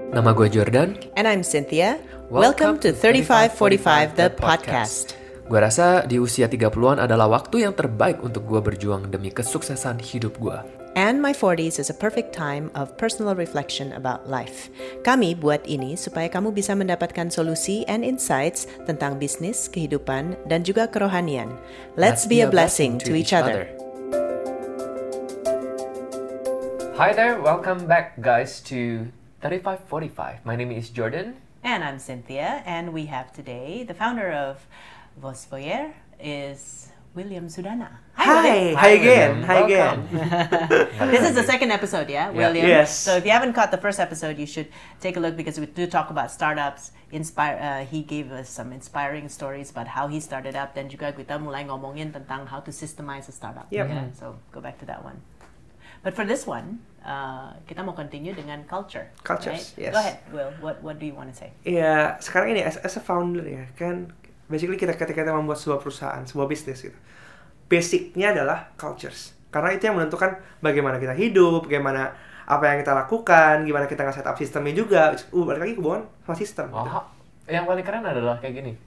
Nama gue Jordan. And I'm Cynthia. Welcome to 3545 the podcast. Gue rasa di usia 30-an adalah waktu yang terbaik untuk gue berjuang demi kesuksesan hidup gue. And my 40s is a perfect time of personal reflection about life. Kami buat ini supaya kamu bisa mendapatkan solusi and insights tentang bisnis, kehidupan, dan juga kerohanian. Let's be a blessing to each other. Hi there, welcome back guys to 3545. My name is Jordan. And I'm Cynthia, and we have today the founder of Vosvoyer is William Sudana. Hi again. This is the second episode, yeah, William? Yes. So if you haven't caught the first episode, you should take a look because we do talk about startups. He gave us some inspiring stories about how he started up, dan juga kita mulai ngomongin tentang how to systemize a startup. Yep. Yeah, so go back to that one. But for this one, kita mau continue dengan culture. Cultures, right? yes. Go ahead, Will. What do you want to say? Ya, sekarang ini as a founder ya, kan basically ketika kita membuat sebuah perusahaan, sebuah bisnis gitu. Basicnya adalah cultures. Karena itu yang menentukan bagaimana kita hidup, bagaimana apa yang kita lakukan, gimana kita nge-set up sistemnya juga. Balik lagi hubungan sama sistem. Oh, Gitu. yang paling keren adalah kayak gini.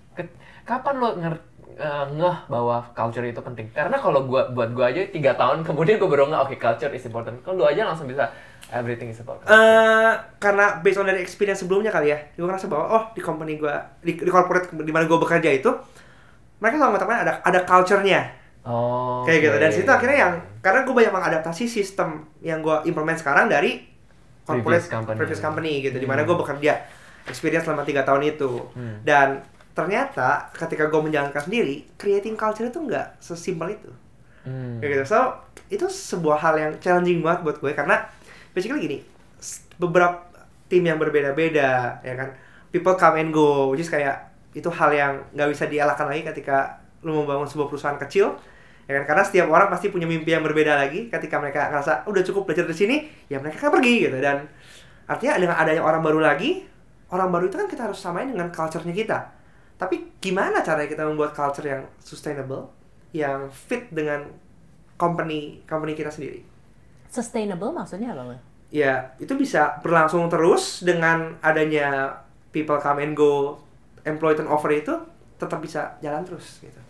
Kapan lo ngeh bahwa culture itu penting? Karena kalau buat gue aja 3 tahun kemudian gue baru ngeh, okay, culture is important. Kalau lo aja langsung bisa everything is about culture. Karena based on dari experience sebelumnya kali ya, gue ngerasa bahwa di company gue, di corporate di mana gue bekerja itu, mereka selalu mengatakan ada culture-nya. Oh, Kayak gitu. Dan situ akhirnya karena gue banyak mengadaptasi sistem yang gue implement sekarang dari corporate previous company gitu, di mana gue bekerja experience selama 3 tahun itu. Dan ternyata ketika gue menjalankan sendiri, creating culture itu nggak sesimpel itu. Kayak gitu. So itu sebuah hal yang challenging banget buat gue karena basically gini, beberapa tim yang berbeda-beda, ya kan, people come and go, which is kayak itu hal yang nggak bisa dielakkan lagi ketika lu membangun sebuah perusahaan kecil, ya kan, karena setiap orang pasti punya mimpi yang berbeda lagi. Ketika mereka ngerasa udah cukup belajar di sini, ya mereka kan pergi gitu. Dan artinya dengan adanya orang baru lagi, orang baru itu kan kita harus samain dengan culture-nya kita. Tapi gimana caranya kita membuat culture yang sustainable, yang fit dengan company kita sendiri? Sustainable maksudnya apa, Will? Ya, itu bisa berlangsung terus dengan adanya people come and go, employee turnover itu tetap bisa jalan terus gitu.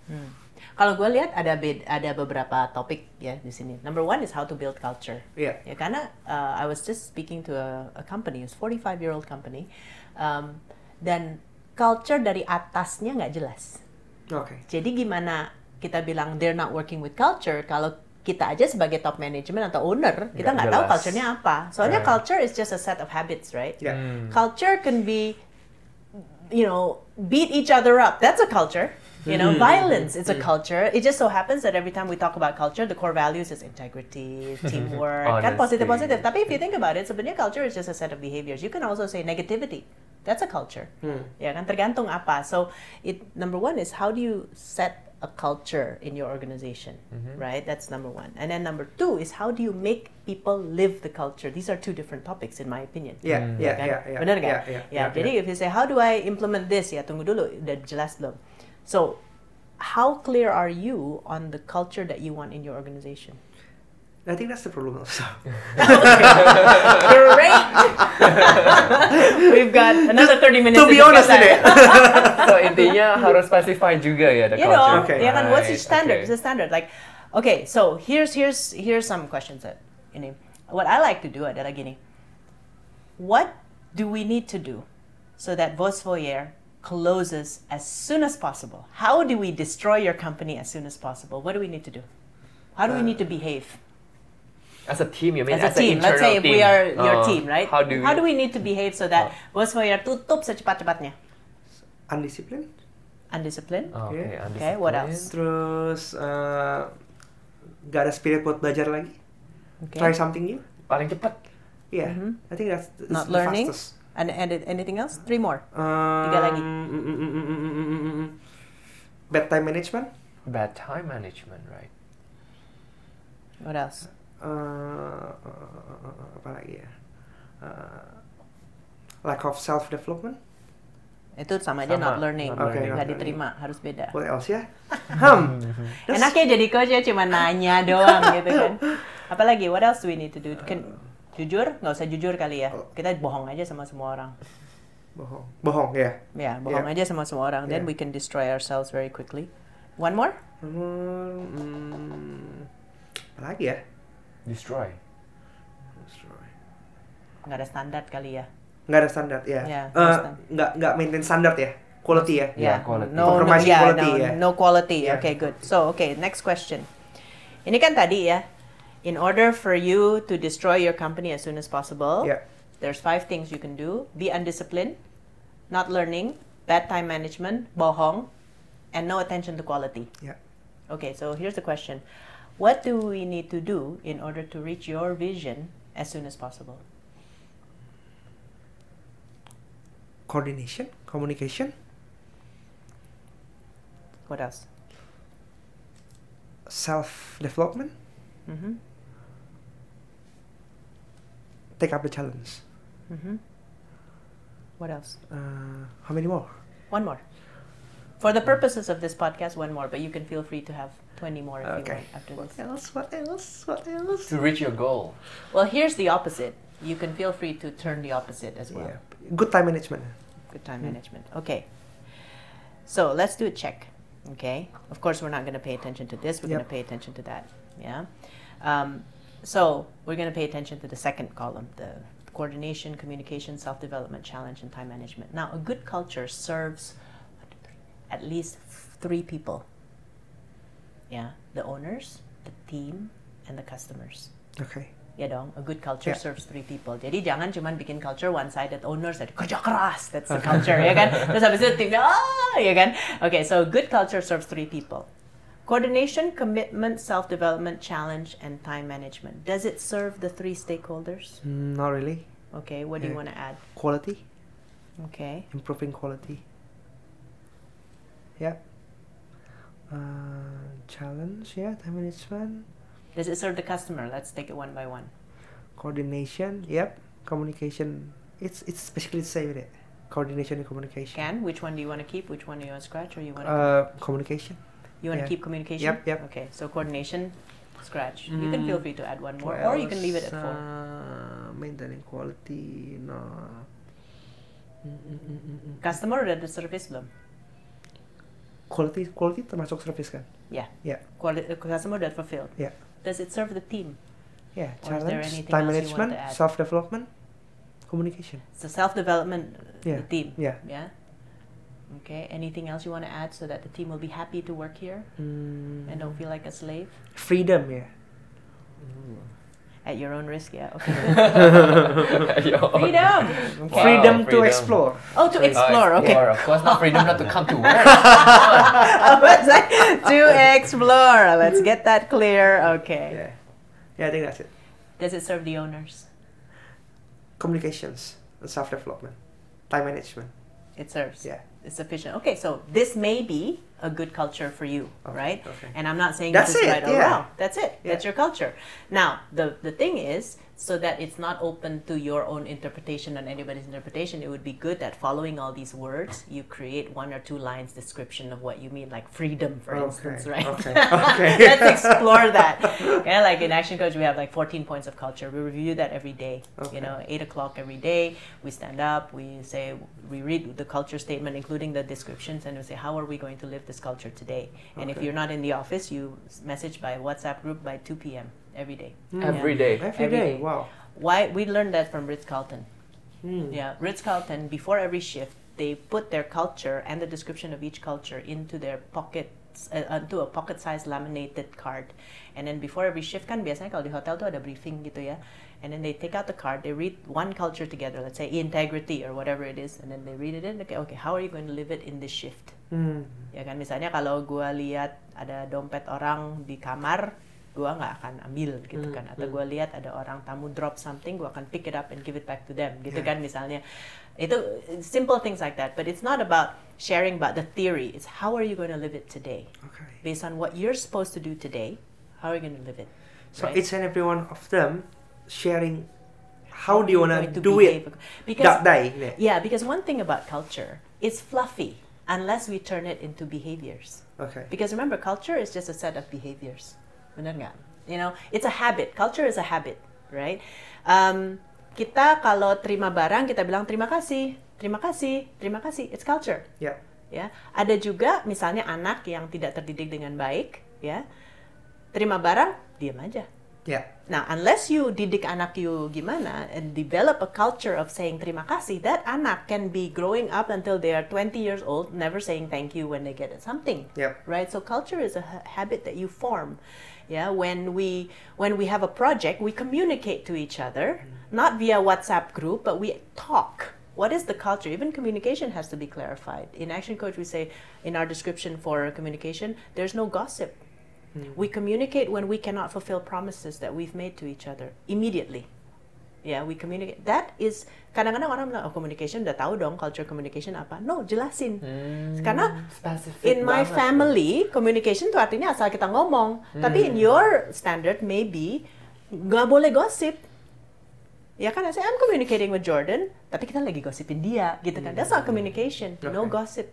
Kalau gue lihat ada beberapa topik ya di sini. Number one is how to build culture. Iya. Ya karena I was just speaking to a company, it's 45-year-old company, dan culture dari atasnya nggak jelas. Oke. Jadi gimana kita bilang they're not working with culture kalau kita aja sebagai top management atau owner kita nggak tahu jelas. culture-nya apa. Soalnya culture is just a set of habits, right? Yeah. Culture can be, beat each other up. That's a culture. Violence is a culture. It just so happens that every time we talk about culture, the core values is integrity, teamwork, kan positif. Tapi if you think about it, sebenarnya culture is just a set of behaviors. You can also say negativity. That's a culture. Ya kan, tergantung apa. So, number one is how do you set a culture in your organization, right? That's number one. And then number two is how do you make people live the culture? These are two different topics in my opinion. Yeah. Benar kan? Jadi if you say how do I implement this? Ya tunggu dulu, udah jelas belum? So how clear are you on the culture that you want in your organization? I think that's the problem also. Great. We've got another 30 minutes to be honest today. So intinya harus specify juga ya the culture. Okay. Ya kan, what's your standard? Okay. It's a standard. Like, okay, so here's some questions that what I like to do adalah gini. What do we need to do so that Vosvoyer closes as soon as possible? How do we destroy your company as soon as possible? What do we need to do? How do we need to behave? As a team, you mean? As a team, let's say if we are your team, right? How do we need to behave so that Vosvoyer tutup secepat-cepatnya? Undisciplined. Undisciplined. Okay, Okay, what else? Terus gak ada spirit buat belajar lagi. Okay. Try something new. Paling cepat. Yeah, I think that's Not the learning. fastest. And anything else? 3 more. 3 lagi. Bad time management. Bad time management, right? What else? Apa lagi ya? Lack of self development. Itu sama aja not learning. Okay, Nggak not diterima, harus beda. What else ya? Enaknya jadi coach ya cuma nanya doang gitu kan. Apalagi what else do we need to do? Jujur? Nggak usah jujur kali ya. Kita bohong aja sama semua orang. Bohong ya. Ya, bohong aja sama semua orang. Then we can destroy ourselves very quickly. One more? Apa lagi ya? Destroy. Nggak ada standar kali ya. Nggak ada standar ya. Nggak maintain standar ya. Quality ya. Yeah, quality. No quality. Yeah. Okay, good. So, next question. Ini kan tadi ya. In order for you to destroy your company as soon as possible, there's 5 things you can do. Be undisciplined, not learning, bad time management, bohong, and no attention to quality. Yeah. Okay, so here's the question. What do we need to do in order to reach your vision as soon as possible? Coordination, communication. What else? Self-development. Take up the challenge. What else? How many more? One more. For the purposes of this podcast, one more, but you can feel free to have 20 more if you want after this. What else? To reach your goal. Well, here's the opposite. You can feel free to turn the opposite as well. Yeah. Good time management. Good time management. Okay. So let's do a check. Okay. Of course, we're not going to pay attention to this. We're going to pay attention to that. Yeah. So we're going to pay attention to the second column, the coordination, communication, self-development, challenge, and time management. Now, a good culture serves at least 3 people. Yeah. The owners, the team, and the customers. Okay. Ya dong, a good culture serves 3 people. Jadi jangan cuman bikin culture one-sided, owners ada kerja keras, that's the culture, ya kan? Terus habis itu timnya, ya kan? Okay, so good culture serves 3 people. Coordination, commitment, self-development, challenge, and time management. Does it serve the 3 stakeholders? Not really. Okay, what do you want to add? Quality. Okay. Improving quality. Yeah. Challenge, time management. Does it serve the customer? Let's take it one by one. Coordination, communication. It's basically the same with it. Coordination and communication. Which one do you want to keep? Which one do you want to scratch? Or you want to communication. You want to keep communication? Yep. Okay, so coordination, scratch. You can feel free to add one more, or you can leave it at 4. Maintaining quality, no. Customer udah ada service belum? Quality termasuk service kan? Yeah. Customer udah fulfilled. Yeah. Does it serve the team? Yeah. Or Challenge, time management, self-development, communication. So self-development, the team. Yeah. Yeah. Okay. Anything else you want to add so that the team will be happy to work here and don't feel like a slave? Freedom, At your own risk, okay. Freedom. Okay. Wow, freedom to explore. Oh, to explore. Okay. Of course, not freedom not to come to work. To explore. Let's get that clear. Okay. Yeah, I think that's it. Does it serve the owners? Communications and self-development, time management. It serves. Yeah. It's sufficient. Okay, so this may be a good culture for you, right? Okay. And I'm not saying that's this is right or yeah. wrong. That's it. Yeah. That's your culture. Now, the thing is, so that it's not open to your own interpretation and anybody's interpretation, it would be good that following all these words, you create 1 or 2 lines description of what you mean, like freedom, for instance, right? Okay. Let's explore that. Yeah, like in Action Coach, we have like 14 points of culture. We review that every day. Okay. 8 o'clock every day. We stand up. We read the culture statement, including the descriptions, and we say, how are we going to live this culture today? And if you're not in the office, you message by WhatsApp group by 2 p.m. every day. Every day. Every day. Wow. Why we learned that from Ritz-Carlton. Yeah, Ritz-Carlton, before every shift, they put their culture and the description of each culture into their pockets, into a pocket-sized laminated card. And then before every shift kan biasanya kalau di hotel tuh ada briefing gitu ya. And then they take out the card, they read one culture together, let's say integrity or whatever it is, and then they read it in. Okay, how are you going to live it in this shift? Ya kan, misalnya kalau gue lihat ada dompet orang di kamar, gue nggak akan ambil gitu kan, atau gue lihat ada orang tamu drop something, gue akan pick it up and give it back to them gitu kan, misalnya itu simple things like that. But it's not about sharing about the theory, it's how are you going to live it today, based on what you're supposed to do today, how are you going to live it, so each and every one of them sharing how do you want to do it that day. Yeah, because one thing about culture, it's fluffy unless we turn it into behaviors. Because remember, culture is just a set of behaviors. Benar nggak? It's a habit. Culture is a habit, right? Kita kalau terima barang kita bilang terima kasih, terima kasih, terima kasih. It's culture. Yeah. Ya, ada juga misalnya anak yang tidak terdidik dengan baik, ya, terima barang diam aja. Yeah. Nah, unless you didik anak you gimana and develop a culture of saying terima kasih, that anak can be growing up until they are 20 years old, never saying thank you when they get something. Yep. Right? So culture is a habit that you form. Yeah, when we have a project, we communicate to each other, not via WhatsApp group, but we talk. What is the culture? Even communication has to be clarified. In Action Coach, we say in our description for communication, there's no gossip. We communicate when we cannot fulfill promises that we've made to each other immediately. Yeah, we communicate. That is, kadang-kadang orang bilang, oh communication udah tahu dong culture communication apa. No, jelasin. Karena in my family, communication itu artinya asal kita ngomong. Tapi in your standard, maybe, nggak boleh gossip. Ya kan, saya I'm communicating with Jordan, tapi kita lagi gosipin dia, gitu kan. That's not communication, no gossip.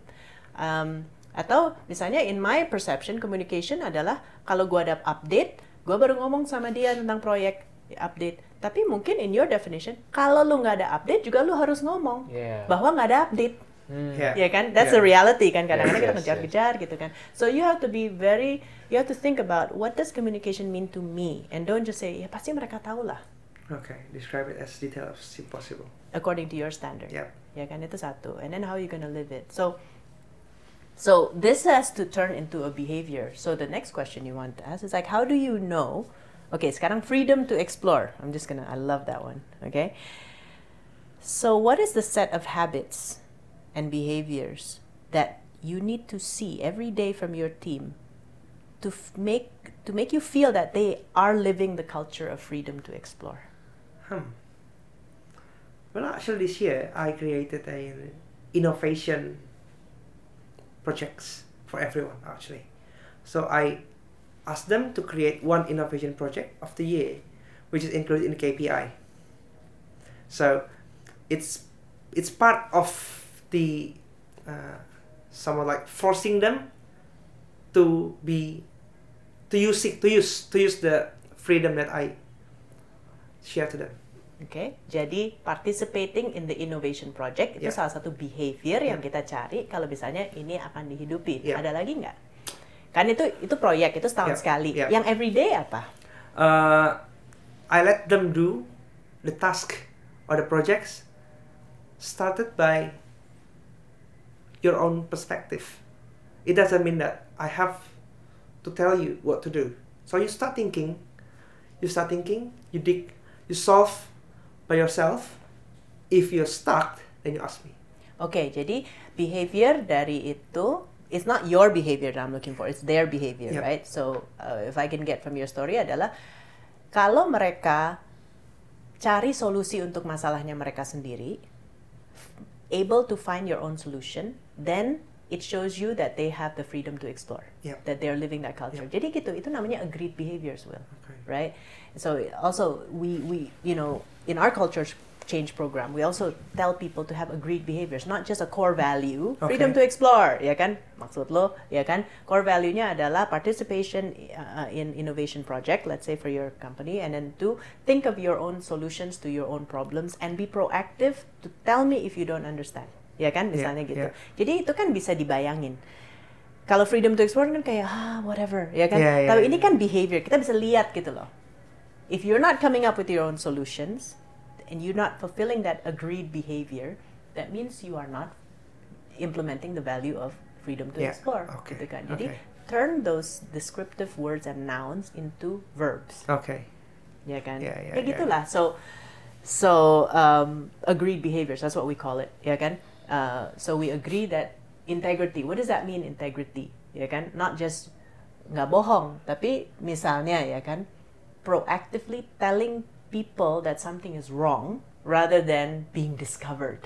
Atau misalnya in my perception, communication adalah kalau gue ada update, gue baru ngomong sama dia tentang proyek update. Tapi mungkin in your definition, kalau lu nggak ada update juga lu harus ngomong bahwa nggak ada update. Ya kan? That's the reality kan. Kadang-kadang kita ngejar-kejar gitu kan. So you have to think about what does communication mean to me, and don't just say ya pasti mereka tahu lah. Okay, describe it as detailed as possible. According to your standard. Yep. Ya kan, itu satu. And then how you gonna live it. So this has to turn into a behavior. So the next question you want to ask is like, how do you know? Okay, sekarang freedom to explore. I love that one. Okay. So what is the set of habits and behaviors that you need to see every day from your team to make you feel that they are living the culture of freedom to explore? Well, actually this year I created an innovation projects for everyone actually. So I asked them to create one innovation project of the year, which is included in the KPI. So it's part of the somewhat like forcing them to use the freedom that I share to them. Okay, jadi participating in the innovation project itu salah satu behavior yang kita cari kalau misalnya ini akan dihidupi. Ada lagi nggak? Kan itu proyek, itu setahun sekali. Yang everyday apa? I let them do the task or the projects started by your own perspective. It doesn't mean that I have to tell you what to do. So you start thinking, you dig, you solve by yourself. If you're stuck, then you ask me. Okay, jadi behavior dari itu, it's not your behavior that I'm looking for, it's their behavior, right? So if I can get from your story adalah kalau mereka cari solusi untuk masalahnya mereka sendiri, able to find your own solution, then it shows you that they have the freedom to explore, that they're living that culture. Jadi gitu, itu namanya agreed behaviors, Will, right? So also we in our culture change program, we also tell people to have agreed behaviors, not just a core value, freedom to explore, ya kan? Maksud lo, ya kan? Core value-nya adalah participation in innovation project, let's say for your company, and then to think of your own solutions to your own problems and be proactive to tell me if you don't understand, ya kan? Misalnya gitu. Jadi itu kan bisa dibayangin. Kalau freedom to explore kan kayak whatever, ya kan? Tapi ini kan behavior, kita bisa lihat gitu loh. If you're not coming up with your own solutions, and you're not fulfilling that agreed behavior, that means you are not implementing the value of freedom to explore. Gitu kan. Jadi turn those descriptive words and nouns into verbs. Ya kan? Kayak gitulah. So agreed behaviors, that's what we call it. Ya kan? So we agree that integrity. What does that mean, integrity? Ya kan? Not just nggak bohong, tapi misalnya ya kan, proactively telling people that something is wrong rather than being discovered.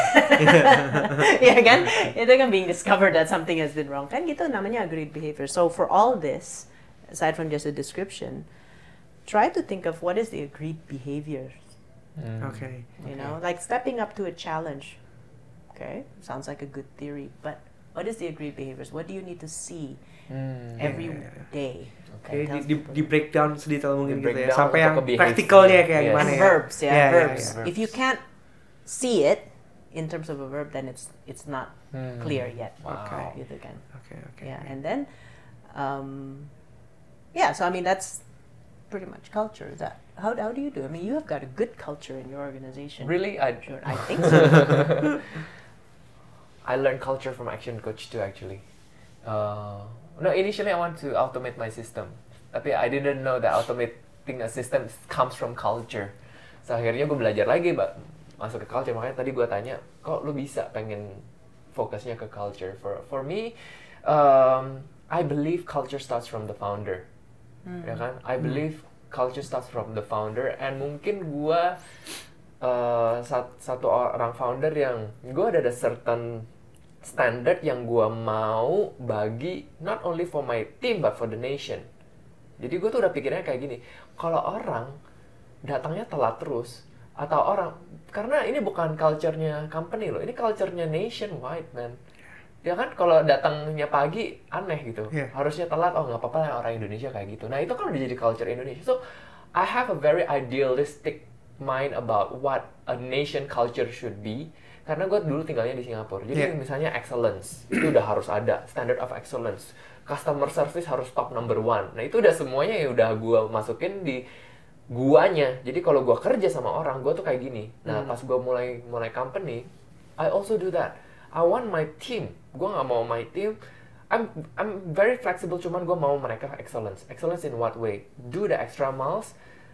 Ya kan? Itu kan being discovered that something has been wrong. Kan gitu namanya agreed behavior. So for all this, aside from just a description, try to think of what is the agreed behavior. You know, like stepping up to a challenge. Okay, sounds like a good theory, but What is the agreed behaviors? What do you need to see every day? Oke, di breakdown sedetail mungkin gitu ya, Sampai yang praktikalnya kayak gimana ya. Verbs. If you can't see it in terms of a verb, then it's not clear yet. Gitu kan. Yeah, and then so I mean that's pretty much culture. Is that how do you do? I mean, you have got a good culture in your organization. Really, I think so. I learned culture from Action Coach too, actually. No, initially I want to automate my system, tapi I didn't know that automating a system comes from culture. So akhirnya gue belajar lagi, masuk ke culture. Makanya tadi gue tanya, kok lu bisa pengen fokusnya ke culture? For me, I believe culture starts from the founder, ya kan? I believe culture starts from the founder, and mungkin gue satu orang founder yang gue ada certain standard yang gue mau bagi not only for my team but for the nation. Jadi gue tuh udah pikirnya kayak gini, kalau orang datangnya telat terus, atau orang, karena ini bukan culture-nya company loh, ini culture-nya nationwide, man. Ya kan, kalau datangnya pagi aneh gitu, harusnya telat, oh nggak apa-apa lah orang Indonesia kayak gitu. Nah itu kan udah jadi culture Indonesia. So I have a very idealistic mind about what a nation culture should be. Karena gue dulu tinggalnya di Singapura, jadi misalnya excellence, itu udah harus ada, standard of excellence. Customer service harus top number 1. Nah itu udah semuanya ya udah gue masukin di guanya. Jadi kalau gue kerja sama orang, gue tuh kayak gini. Nah pas gue mulai company, I also do that. I want my team, gue nggak mau my team, I'm very flexible, cuman gue mau mereka excellence. Excellence in what way? Do the extra miles,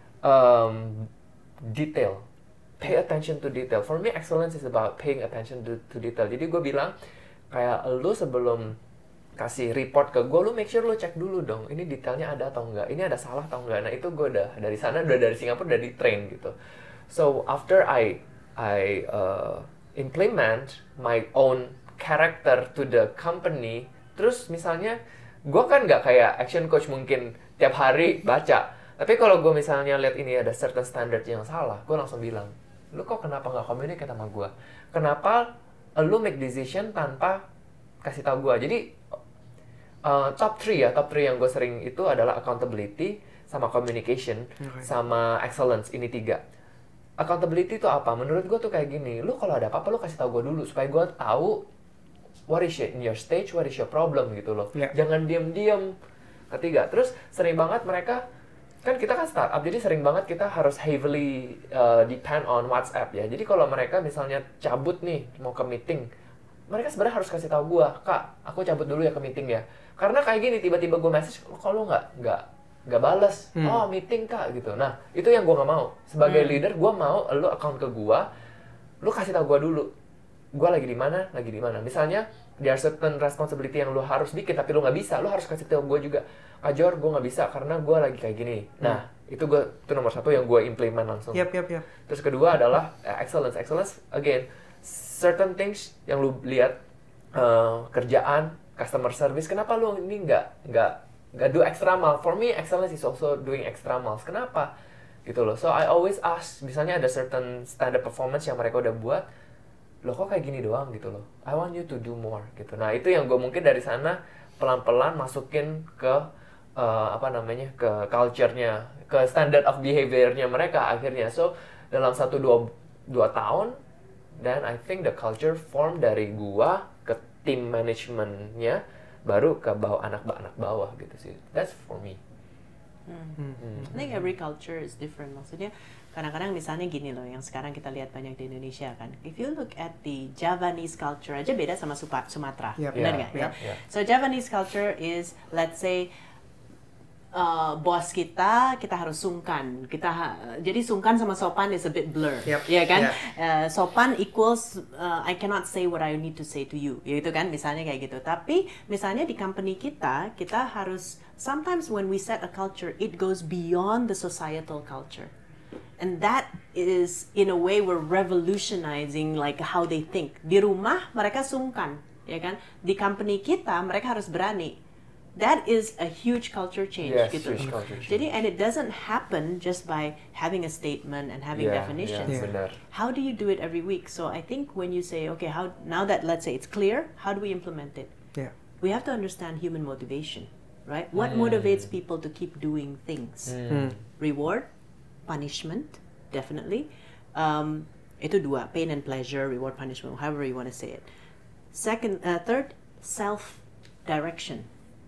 detail. Pay attention to detail. For me, excellence is about paying attention to detail. Jadi gue bilang, kayak lu sebelum kasih report ke gue, lu make sure lu cek dulu dong, ini detailnya ada atau enggak, ini ada salah atau enggak. Nah itu gue udah dari sana, udah dari Singapura, udah di train gitu. So after I implement my own character to the company, terus misalnya, gue kan nggak kayak Action Coach mungkin tiap hari baca. Tapi kalau gue misalnya lihat ini ada certain standard yang salah, gue langsung bilang, lu kok kenapa nggak communicate sama gue? Kenapa lu make decision tanpa kasih tahu gue? Jadi top 3 yang gue sering itu adalah accountability, sama communication, sama excellence. Ini 3. Accountability itu apa? Menurut gue tuh kayak gini, lu kalau ada apa-apa lu kasih tahu gue dulu supaya gue tahu what is in your stage, what is your problem gitu loh. Jangan diam-diam. Ketiga, terus sering banget mereka, kan kita kan startup, jadi sering banget kita harus heavily depend on WhatsApp ya. Jadi kalau mereka misalnya cabut nih, mau ke meeting, mereka sebenarnya harus kasih tahu gue, Kak, aku cabut dulu ya ke meeting ya. Karena kayak gini, tiba-tiba gue message, kok lu nggak balas? Oh, meeting Kak, gitu. Nah, itu yang gue nggak mau. Sebagai leader, gue mau lu account ke gue, lu kasih tahu gue dulu. Gue lagi di mana. Misalnya, there are certain responsibility yang lu harus bikin, tapi lu nggak bisa, lu harus kasih tahu gue juga. Kak Jor, gue nggak bisa karena gue lagi kayak gini. Nah, itu nomor 1 yang gue implement langsung. Terus kedua adalah excellence. Excellence, again, certain things yang lu lihat, kerjaan, customer service. Kenapa lu ini nggak do extra mile? For me, excellence is also doing extra miles. Kenapa? Gitu loh. So I always ask, misalnya ada certain standard performance yang mereka udah buat, lo kok kayak gini doang gitu loh. I want you to do more gitu. Nah itu yang gue mungkin dari sana pelan-pelan masukin ke ke culture-nya, ke standard of behavior-nya mereka akhirnya. So dalam 1-2 tahun, dan I think the culture form dari gua ke tim manajemennya, baru ke anak bawah gitu sih. That's for me. I think every culture is different. Maksudnya kadang-kadang misalnya gini loh, yang sekarang kita lihat banyak di Indonesia kan. If you look at the Javanese culture aja beda sama Sumatera, benar nggak? So Javanese culture is, let's say, bos kita harus sungkan. Jadi sungkan sama sopan is a bit blur, ya kan? Sopan equals I cannot say what I need to say to you, gitu kan? Misalnya kayak gitu. Tapi misalnya di company kita harus, sometimes when we set a culture, it goes beyond the societal culture. And that is, in a way, we're revolutionizing like how they think. Di rumah mereka sungkan, ya kan? Di company kita mereka harus berani. that is a huge culture change. Yes, gitu. huge culture change. Jadi, and it doesn't happen just by having a statement and having definitions. Benar. How do you do it every week? So I think when you say, okay, how now that let's say it's clear, how do we implement it? Yeah. We have to understand human motivation, right? What motivates people to keep doing things? Reward, punishment, definitely. Itu dua, pain and pleasure, reward, punishment, however you want to say it. Third, self-direction.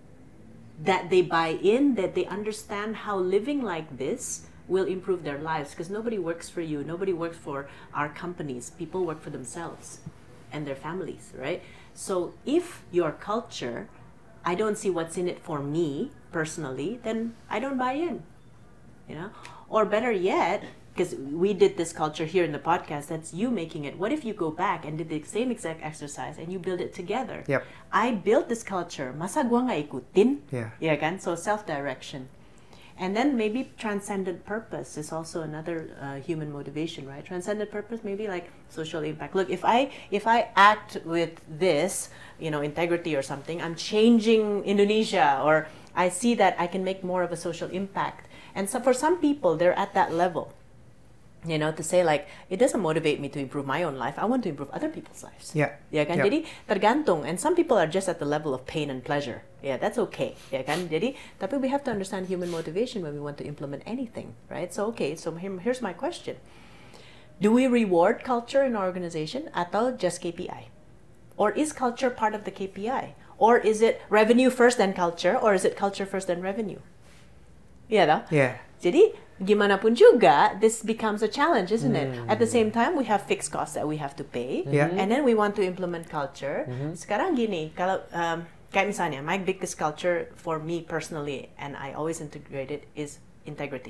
That they buy in, that they understand how living like this will improve their lives, because nobody works for you, nobody works for our companies. People work for themselves and their families, right? So if your culture, I don't see what's in it for me personally, then I don't buy in, you know? Or better yet, because we did this culture here in the podcast, that's you making it. What if you go back and did the same exact exercise and you build it together? Yep. I built this culture, masa gua nggak ikutin? Yeah. Yeah, kan? So self-direction. And then maybe transcendent purpose is also another human motivation, right? Transcendent purpose, maybe like social impact. Look, if I act with this, you know, integrity or something, I'm changing Indonesia, or I see that I can make more of a social impact. And so for some people, they're at that level. You know, to say like, it doesn't motivate me to improve my own life. I want to improve other people's lives. Yeah. Ya kan? Yeah. Jadi tergantung. And some people are just at the level of pain and pleasure. Yeah, that's okay. Ya kan? Jadi, tapi we have to understand human motivation when we want to implement anything, right? So okay, so here's my question. Do we reward culture in our organization atau just KPI? Or is culture part of the KPI? Or is it revenue first then culture? Or is it culture first then revenue? Yeah, no? Yeah. Jadi, gimana pun juga, this becomes a challenge, isn't it? At the same time, we have fixed costs that we have to pay, and then we want to implement culture. Sekarang gini, kalau kayak misalnya, my biggest culture for me personally, and I always integrate it, is integrity.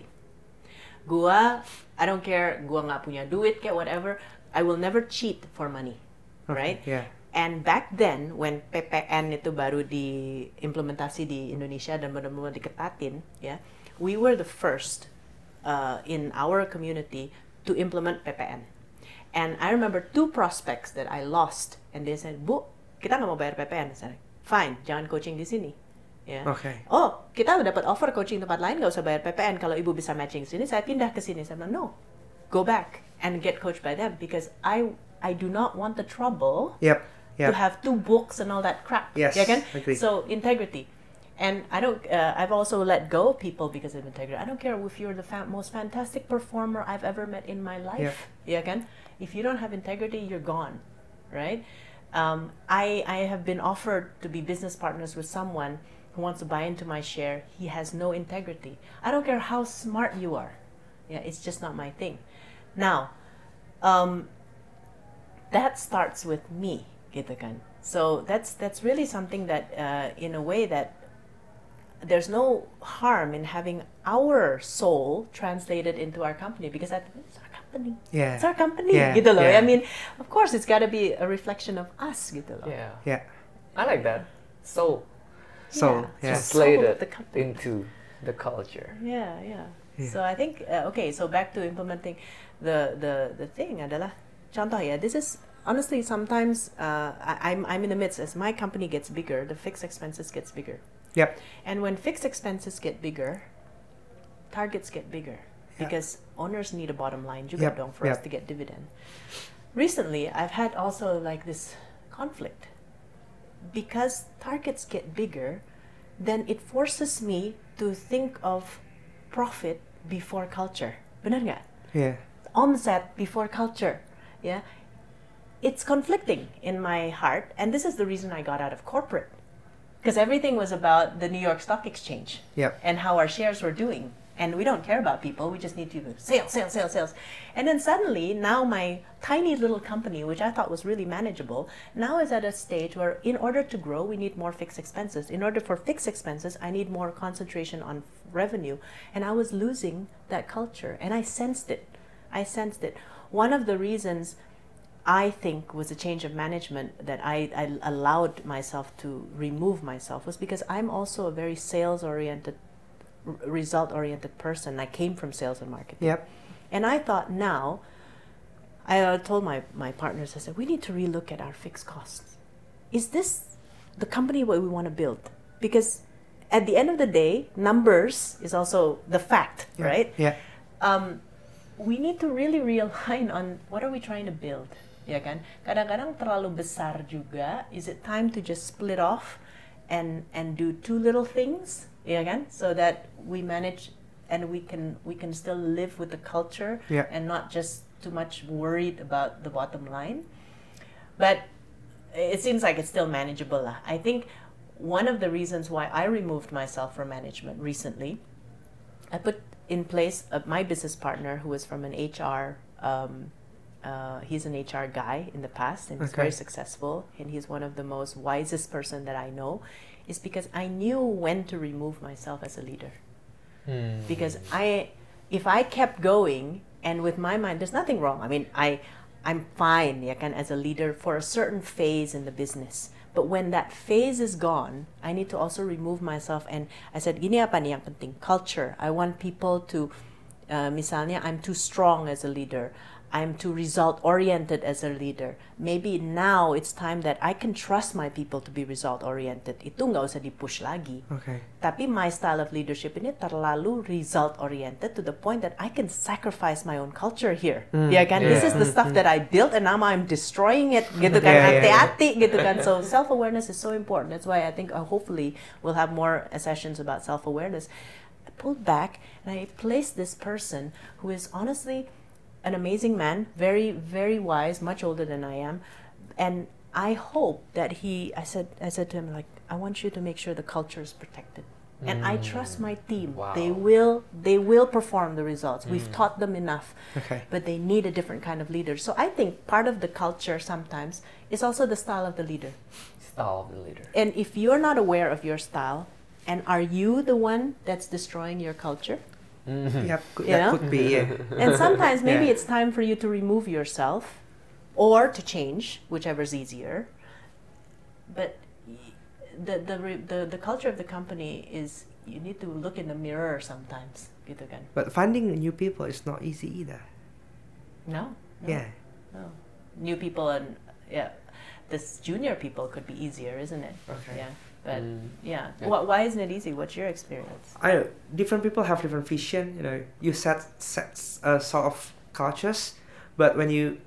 I don't care, gua nggak punya duit, kayak whatever, I will never cheat for money, right? Yeah. And back then, when PPN itu baru diimplementasi di Indonesia dan benar-benar diketatin, ya, we were the first in our community to implement PPN. And I remember 2 prospects that I lost, and they said, Bu, kita nggak mau bayar PPN. I said, fine, jangan coaching di sini. Yeah. Okay. Oh, kita dapat offer coaching tempat lain, nggak usah bayar PPN. Kalau ibu bisa matching sini, saya pindah ke sini. Saya bilang, no, go back and get coached by them, because I do not want the trouble to have 2 books and all that crap. Yes, Yeah, kan? agree. So integrity. And I don't. I've also let go of people because of integrity. I don't care if you're the most fantastic performer I've ever met in my life. Yeah, kan? If you don't have integrity, you're gone, right? I have been offered to be business partners with someone who wants to buy into my share. He has no integrity. I don't care how smart you are. Yeah, it's just not my thing. Now, that starts with me, gitu kan? So that's really something that, in a way, that there's no harm in having our soul translated into our company, because it's our company. Yeah. It's our company, Yeah. gitu loh. Yeah. I mean, of course, it's got to be a reflection of us, gitu loh. Yeah. Yeah. I like that. So So, yeah. translated the company. into the culture. Yeah. So I think okay. So back to implementing the thing adalah contoh ya. This is honestly sometimes I'm in the midst, as my company gets bigger, the fixed expenses gets bigger. Yep. And when fixed expenses get bigger, targets get bigger, because owners need a bottom line juga dong for us to get dividend. Recently, I've had also like this conflict, because targets get bigger, then it forces me to think of profit before culture. Benar nggak? Yeah. Omset before culture. Yeah. It's conflicting in my heart, and this is the reason I got out of corporate. Because everything was about the New York Stock Exchange and how our shares were doing. And we don't care about people. We just need to sales. And then suddenly, now my tiny little company, which I thought was really manageable, now is at a stage where in order to grow, we need more fixed expenses. In order for fixed expenses, I need more concentration on revenue. And I was losing that culture. And I sensed it. One of the reasons I think was a change of management that I allowed myself to remove myself was because I'm also a very sales-oriented, result-oriented person. I came from sales and marketing. Yep. And I thought now, I told my partners, I said, we need to relook at our fixed costs. Is this the company what we want to build? Because at the end of the day, numbers is also the fact, right? Yeah. We need to really realign on what are we trying to build, ya kan? Kadang-kadang terlalu besar juga. Is it time to just split off and do two little things, ya kan? So that we manage and we can still live with the culture and not just too much worried about the bottom line. But it seems like it's still manageable lah. I think one of the reasons why I removed myself from management recently, I put in place my business partner who is from an HR, he's an HR guy in the past and he's very successful and he's one of the most wisest person that I know, is because I knew when to remove myself as a leader. Because if I kept going and with my mind, there's nothing wrong. I mean, I'm fine, ya kan, as a leader for a certain phase in the business. But when that phase is gone, I need to also remove myself. And I said, gini apa nih yang penting? Culture. I want people to, misalnya, I'm too strong as a leader. I'm too result-oriented as a leader. Maybe now it's time that I can trust my people to be result-oriented. Itu nggak usah di-push lagi. Okay. Tapi my style of leadership ini terlalu result-oriented to the point that I can sacrifice my own culture here. Ya kan? This is the stuff that I built and now I'm destroying it. Gitu kan? Hati-hati gitu kan? So self-awareness is so important. That's why I think hopefully we'll have more sessions about self-awareness. I pulled back and I placed this person who is honestly an amazing man, very, very wise, much older than I am. And I hope that I said to him, like, I want you to make sure the culture is protected. And I trust my team. Wow. They will perform the results. We've taught them enough. Okay. But they need a different kind of leader. So I think part of the culture sometimes is also the style of the leader. Style of the leader. And if you're not aware of your style, and are you the one that's destroying your culture? Yeah, that could be. Yeah. And sometimes maybe it's time for you to remove yourself or to change, whichever's easier. But the culture of the company is you need to look in the mirror sometimes, gitu kan. But finding new people is not easy either. No. Yeah. No. New people and this junior people could be easier, isn't it? Okay. Yeah. But why isn't it easy? What's your experience? I know different people have different vision. You know, you set sort of cultures, but when you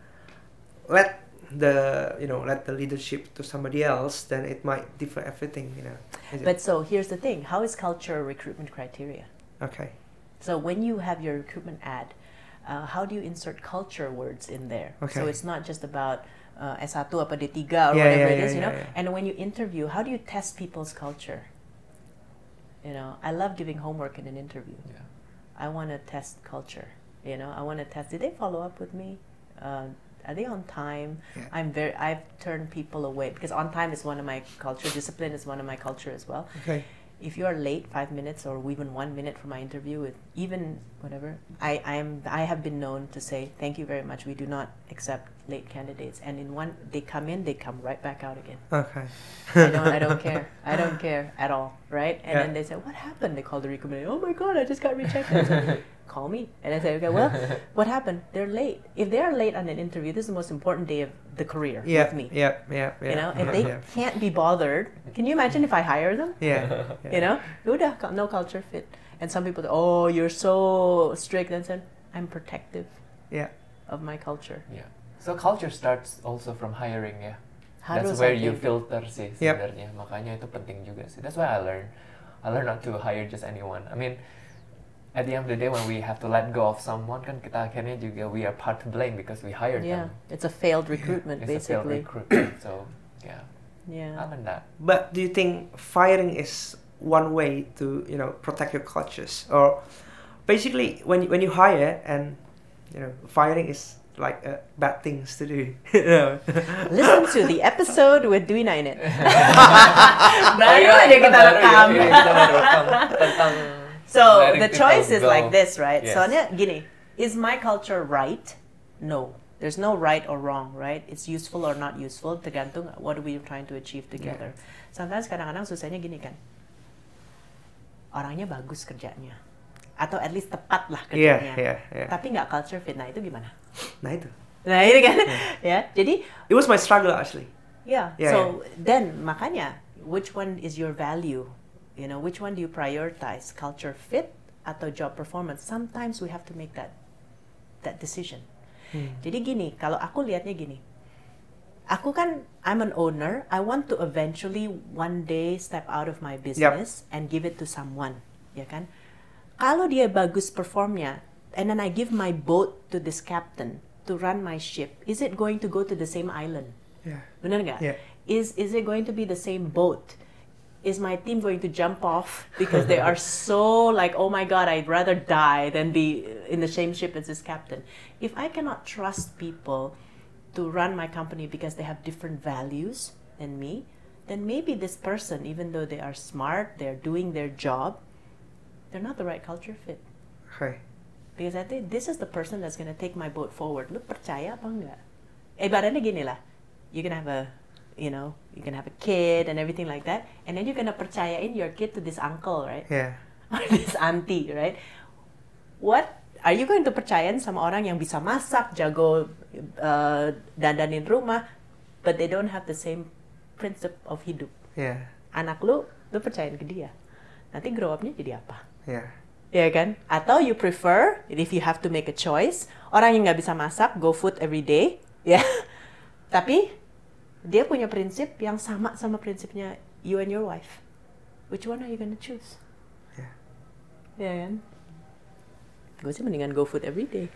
let the leadership to somebody else, then it might differ everything. You know. But so here's the thing: how is culture a recruitment criteria? Okay. So when you have your recruitment ad, how do you insert culture words in there? Okay. So it's not just about S1 apa D3 or whatever it is, you know. And when you interview, how do you test people's culture? You know, I love giving homework in an interview. Yeah. I want to test culture. You know, I want to test. Did they follow up with me? Are they on time? Yeah. I've turned people away because on time is one of my culture. Discipline is one of my culture as well. Okay. If you are late 5 minutes or even 1 minute for my interview, with even whatever, I have been known to say thank you very much. We do not accept late candidates. And they come in, they come right back out again. Okay. I don't care. I don't care at all, right? And then they say, what happened? They call the recruiter. Oh my God, I just got rejected. I say, call me. And I say, okay, well, what happened? They're late. If they are late on an interview, this is the most important day of the career with me. Yeah. You know, if they can't be bothered, can you imagine if I hire them? Yeah. You know, no culture fit. And some people say, oh, you're so strict. And said, I'm protective of my culture. Yeah. So culture starts also from hiring, ya. Harus That's where you filter sih sebenarnya. Yep. Makanya itu penting juga sih. That's why I learned not to hire just anyone. I mean, at the end of the day when we have to let go of someone, kan kita akhirnya juga we are part to blame because we hired them. It's a failed recruitment, It's basically. a failed recruitment. So, I learned that. But do you think firing is one way to, you know, protect your cultures? Or basically when you hire and, you know, firing is like bad things to do. Listen to the episode with Dwi Nainit. Baru aja kita rekam. So the choice is like this, right? Yes. Soalnya gini, is my culture right? No. There's no right or wrong, right? It's useful or not useful, tergantung what are we trying to achieve together. Sometimes kadang-kadang susahnya gini kan, orangnya bagus kerjanya, atau at least tepat lah kerjanya, tapi nggak culture fit. Nah itu gimana? Nah itu kan, jadi it was my struggle actually. So then makanya, which one is your value? which one do you prioritize? Culture fit atau job performance? Sometimes we have to make that decision. Jadi gini, kalau aku lihatnya gini. Aku kan, I'm an owner. I want to eventually one day step out of my business and give it to someone, ya kan? Kalau dia bagus performnya, and then I give my boat to this captain to run my ship, is it going to go to the same island? Yeah. Benar nggak? Yeah. Is it going to be the same boat? Is my team going to jump off because they are so like, oh my God, I'd rather die than be in the same ship as this captain? If I cannot trust people to run my company because they have different values than me, then maybe this person, even though they are smart, they're doing their job, they're not the right culture fit. Okay. Because I think this is the person that's going to take my boat forward. Lu percaya apa enggak? Ibaratnya gini lah, you can have a kid and everything like that, and then you're going to percayain your kid to this uncle, right? Yeah. Or this auntie, right? What are you going to percayain sama orang yang bisa masak, jago dandanin rumah, but they don't have the same principle of hidup? Yeah. Anak lu percayain ke dia. Nanti grow up-nya jadi apa? Yeah. Ya kan? Atau you prefer, if you have to make a choice, orang yang nggak bisa masak, go food every day, ya. Tapi dia punya prinsip yang sama prinsipnya you and your wife. Which one are you gonna choose? Yeah. Ya kan? Gue sih mendingan go food every day.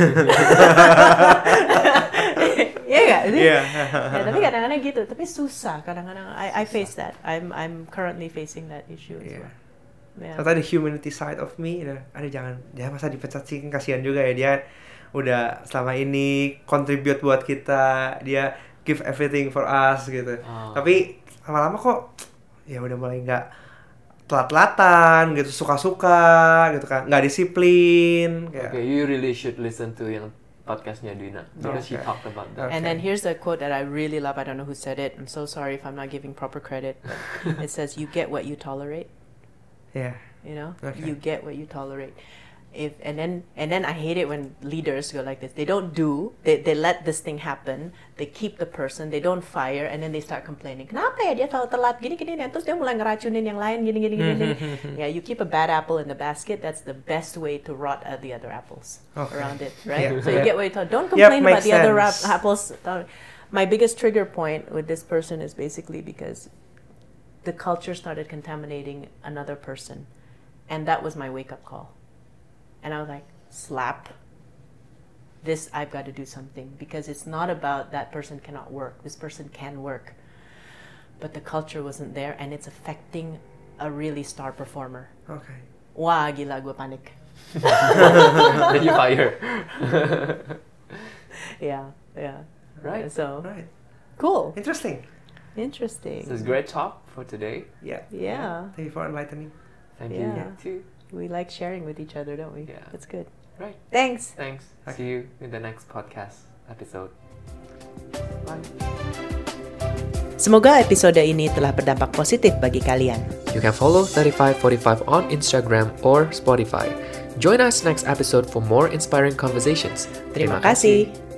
Iya nggak sih? Yeah. Ya, tapi kadang-kadang gitu. Tapi susah. Kadang-kadang I face that. I'm currently facing that issue as well. Yeah. Ternyata the humanity side of me, jangan, dia masa dipecat sih, kan kasihan juga ya, dia udah selama ini contribute buat kita, dia give everything for us gitu. Tapi lama-lama kok ya udah mulai nggak telat-telatan gitu, suka-suka gitu kan, nggak disiplin. Okay, you really should listen to yang podcastnya Dina because she talked about that. And then here's the quote that I really love. I don't know who said it. I'm so sorry if I'm not giving proper credit. But it says, "You get what you tolerate." Yeah. You know, Okay. you get what you tolerate. And then I hate it when leaders go like this. They don't do. They let this thing happen. They keep the person. They don't fire, and then they start complaining. Kenapa ya dia selalu telat gini. Terus dia mulai ngeracunin yang lain gini. Yeah, you keep a bad apple in the basket. That's the best way to rot at the other apples around it, right? Yeah. So you get what you tolerate. Don't complain about the other sense. apples. My biggest trigger point with this person is basically because the culture started contaminating another person, and that was my wake-up call. And I was like, slap. This, I've got to do something. Because it's not about that person cannot work. This person can work. But the culture wasn't there, and it's affecting a really star performer. Okay. Wah, gila, gue panik. Then you fire. Yeah. Right. So, Right. cool. Interesting. Interesting. This is great talk for today. Yeah. Yeah. Thank you for enlightening. Thank Yeah. you too. We like sharing with each other, don't we? Yeah. That's good. Right. Thanks. Thanks. Okay. See you in the next podcast episode. Bye. Semoga episode ini telah berdampak positif bagi kalian. You can follow 3545 on Instagram or Spotify. Join us next episode for more inspiring conversations. Terima kasih.